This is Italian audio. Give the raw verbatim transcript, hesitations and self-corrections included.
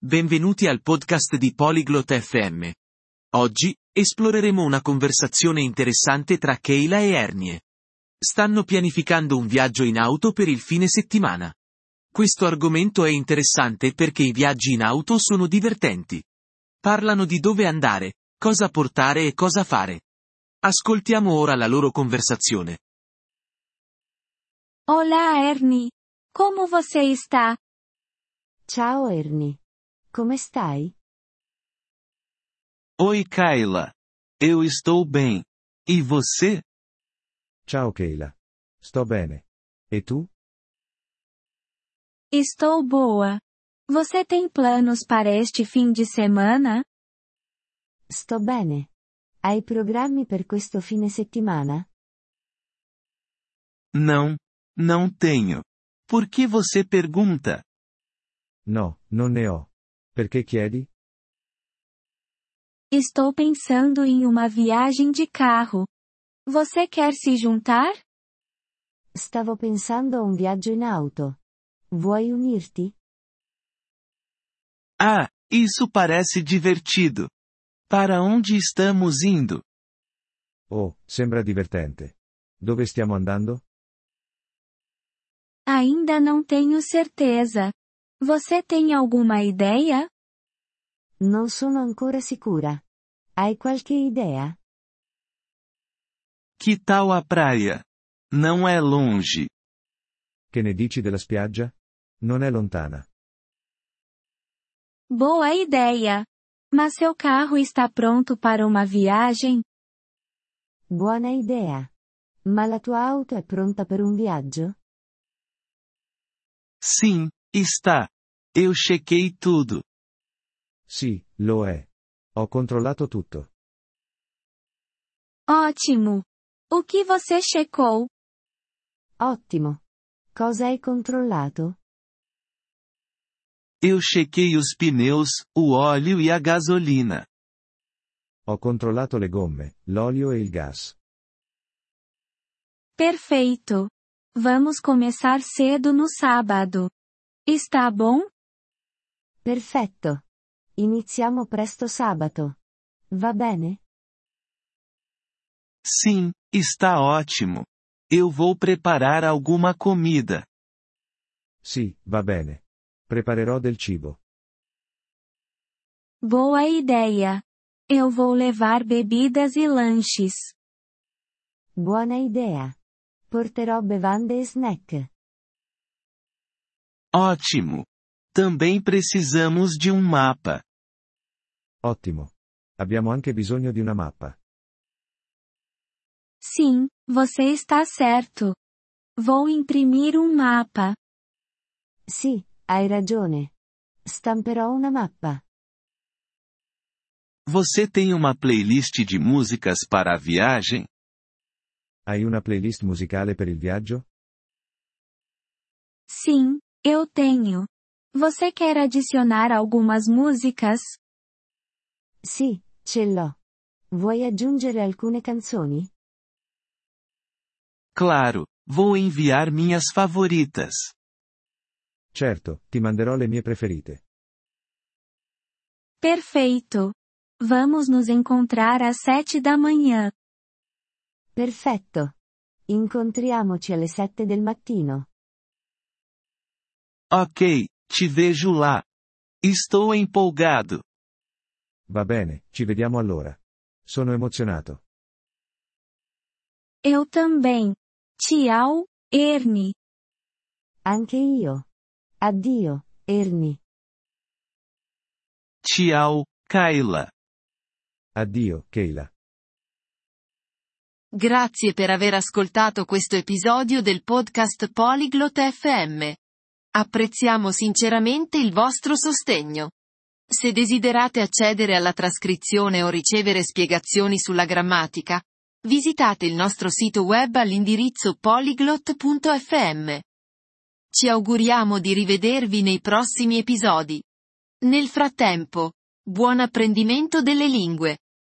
Benvenuti al podcast di Polyglot F M. Oggi, esploreremo una conversazione interessante tra Kayla e Ernie. Stanno pianificando un viaggio in auto per il fine settimana. Questo argomento è interessante perché i viaggi in auto sono divertenti. Parlano di dove andare, cosa portare e cosa fare. Ascoltiamo ora la loro conversazione. Olá, Ernie. Como você está? Ciao Ernie. Come stai? Oi, Kayla. Eu estou bem. E você? Ciao Kayla. Sto bene. E tu? Estou boa. Você tem planos para este fim de semana? Sto bene. Hai programmi per questo fine settimana? Não, não tenho. Por que você pergunta? No, non ne ho. Perché chiedi? Estou pensando em uma viagem de carro. Você quer se juntar? Stavo pensando a un viaggio in auto. Vuoi unirti? Ah, isso parece divertido. Para onde estamos indo? Oh, sembra divertente. Dove stiamo andando? Ainda não tenho certeza. Você tem alguma ideia? Non sono ancora sicura. Hai qualche idea? Que tal a praia? Não é longe. Che ne dici della spiaggia? Non è lontana. Boa ideia. Mas seu carro está pronto para uma viagem? Buona idea. Ma la tua auto è pronta per un viaggio? Sim, está. Eu chequei tudo. Sì, lo è. Ho controllato tutto. Ótimo. O que você checou? Ottimo. Cosa hai controllato? Eu chequei os pneus, o óleo e a gasolina. Ho controllato le gomme, l'olio e il gas. Perfeito. Vamos começar cedo no sábado. Está bom? Perfetto. Iniziamo presto sabato. Va bene? Sim, está ótimo. Eu vou preparar alguma comida. Sì, va bene. Preparerò del cibo. Boa ideia. Eu vou levar bebidas e lanches. Buona idea. Porterò bevande e snack. Ótimo. Também precisamos de um mapa. Ottimo. Abbiamo anche bisogno di una mappa. Sim, você está certo. Vou imprimir um mapa. Sì, hai ragione. Stamperò una mappa. Você tem uma playlist de músicas para a viagem? Hai una playlist musicale per il viaggio? Sim, eu tenho. Você quer adicionar algumas músicas? Sì, ce l'ho. Vuoi aggiungere alcune canzoni? Claro, vou enviar minhas favoritas. Certo, ti manderò le mie preferite. Perfeito. Vamos nos encontrar às sete da manhã. Perfetto. Incontriamoci alle sette del mattino. Ok, te vejo lá. Estou empolgado. Va bene, ci vediamo allora. Sono emozionato. Eu também. Tchau, Ernie. Anche io. Addio, Ernie. Tchau, Kayla. Addio, Kayla. Grazie per aver ascoltato questo episodio del podcast Polyglot F M. Apprezziamo sinceramente il vostro sostegno. Se desiderate accedere alla trascrizione o ricevere spiegazioni sulla grammatica, visitate il nostro sito web all'indirizzo polyglot punto f m. Ci auguriamo di rivedervi nei prossimi episodi. Nel frattempo, buon apprendimento delle lingue!